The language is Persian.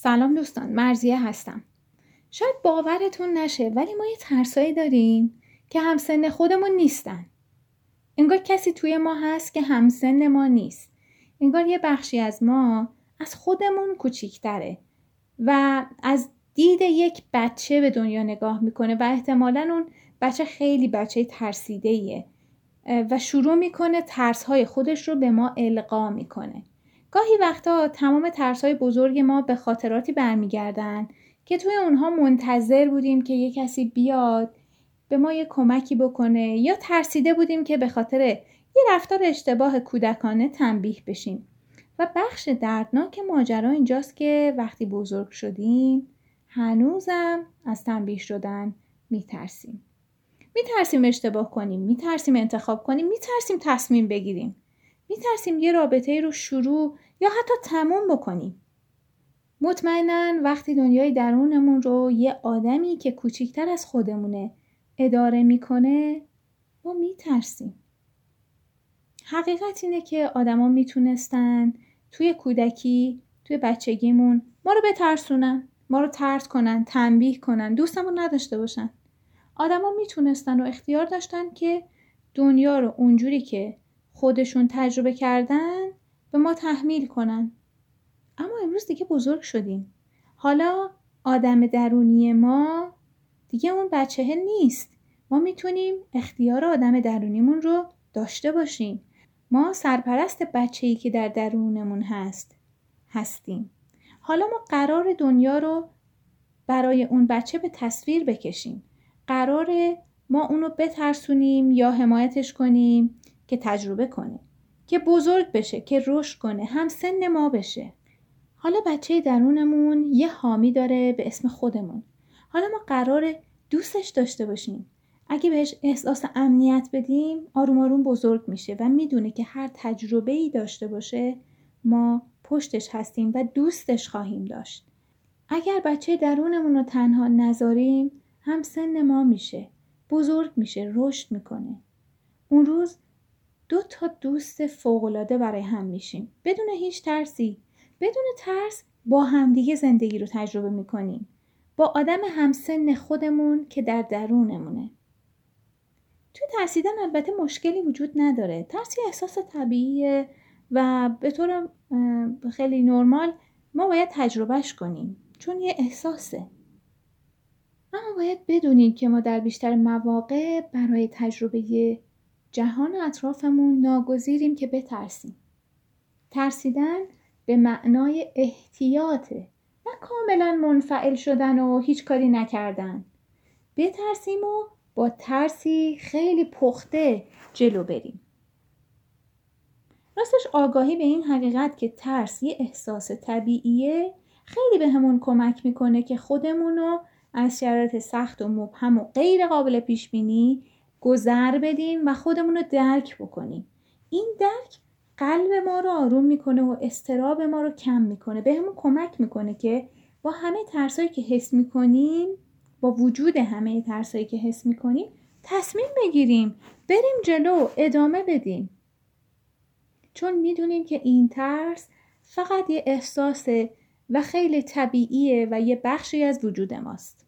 سلام دوستان، مرضیه هستم. شاید باورتون نشه ولی ما یه ترسایی داریم که همسن خودمون نیستن. انگار کسی توی ما هست که همسن ما نیست. انگار یه بخشی از ما از خودمون کوچیک‌تره و از دید یک بچه به دنیا نگاه میکنه و احتمالاً اون بچه خیلی بچه ترسیده‌ایه و شروع میکنه ترس‌های خودش رو به ما القا میکنه. گاهی وقتا تمام ترس‌های بزرگ ما به خاطراتی برمیگردن که توی اونها منتظر بودیم که یه کسی بیاد به ما یه کمکی بکنه یا ترسیده بودیم که به خاطر یه رفتار اشتباه کودکانه تنبیه بشیم. و بخش دردناک ماجرا اینجاست که وقتی بزرگ شدیم هنوزم از تنبیه شدن میترسیم. میترسیم اشتباه کنیم، میترسیم انتخاب کنیم، میترسیم تصمیم بگیریم. میترسیم یه رابطه رو شروع یا حتی تموم بکنیم. مطمئناً وقتی دنیای درونمون رو یه آدمی که کوچیکتر از خودمونه اداره میکنه ما میترسیم. حقیقت اینه که آدما میتونستن توی کودکی، توی بچگیمون ما رو بترسونن، ما رو طرد کنن، تنبیه کنن، دوستمون نداشته باشن. آدما میتونستن و اختیار داشتن که دنیا رو اونجوری که خودشون تجربه کردن به ما تحمیل کنن. اما امروز دیگه بزرگ شدیم. حالا آدم درونی ما دیگه اون بچه نیست. ما میتونیم اختیار آدم درونیمون رو داشته باشیم. ما سرپرست بچه‌ای که در درونمون هستیم. حالا ما قرار دنیا رو برای اون بچه به تصویر بکشیم. قراره ما اونو بترسونیم یا حمایتش کنیم که تجربه کنه، که بزرگ بشه، که رشد کنه، هم سن ما بشه. حالا بچه درونمون یه حامی داره به اسم خودمون. حالا ما قراره دوستش داشته باشیم. اگه بهش احساس امنیت بدیم آروم آروم بزرگ میشه و میدونه که هر تجربه‌ای داشته باشه ما پشتش هستیم و دوستش خواهیم داشت. اگر بچه درونمون رو تنها نذاریم هم سن ما میشه، بزرگ میشه، رشد میکنه. اون روز 2 دوست فوق‌العاده برای هم میشیم بدون هیچ ترسی. بدون ترس با همدیگه زندگی رو تجربه میکنیم، با آدم همسن خودمون که در درونمونه. توی ترسیدن البته مشکلی وجود نداره. ترس یه احساس طبیعیه و به طور خیلی نرمال ما باید تجربهش کنیم چون یه احساسه. اما باید بدونید که ما در بیشتر مواقع برای تجربه جهان اطرافمون ناگزیریم که بترسیم. ترسیدن به معنای احتیاطه، نه کاملا منفعل شدن و هیچ کاری نکردن. بترسیم و با ترسی خیلی پخته جلو بریم. راستش آگاهی به این حقیقت که ترس یه احساس طبیعیه خیلی به همون کمک میکنه که خودمونو از شرایط سخت و مبهم و غیر قابل پیش بینی گذر بدیم و خودمون رو درک بکنیم. این درک قلب ما رو آروم میکنه و اضطراب ما رو کم میکنه. به همون کمک میکنه که با همه ترسایی که حس میکنیم، با وجود همه ترسایی که حس میکنیم تصمیم بگیریم، بریم جلو، ادامه بدیم. چون میدونیم که این ترس فقط یه احساسه و خیلی طبیعیه و یه بخشی از وجود ماست.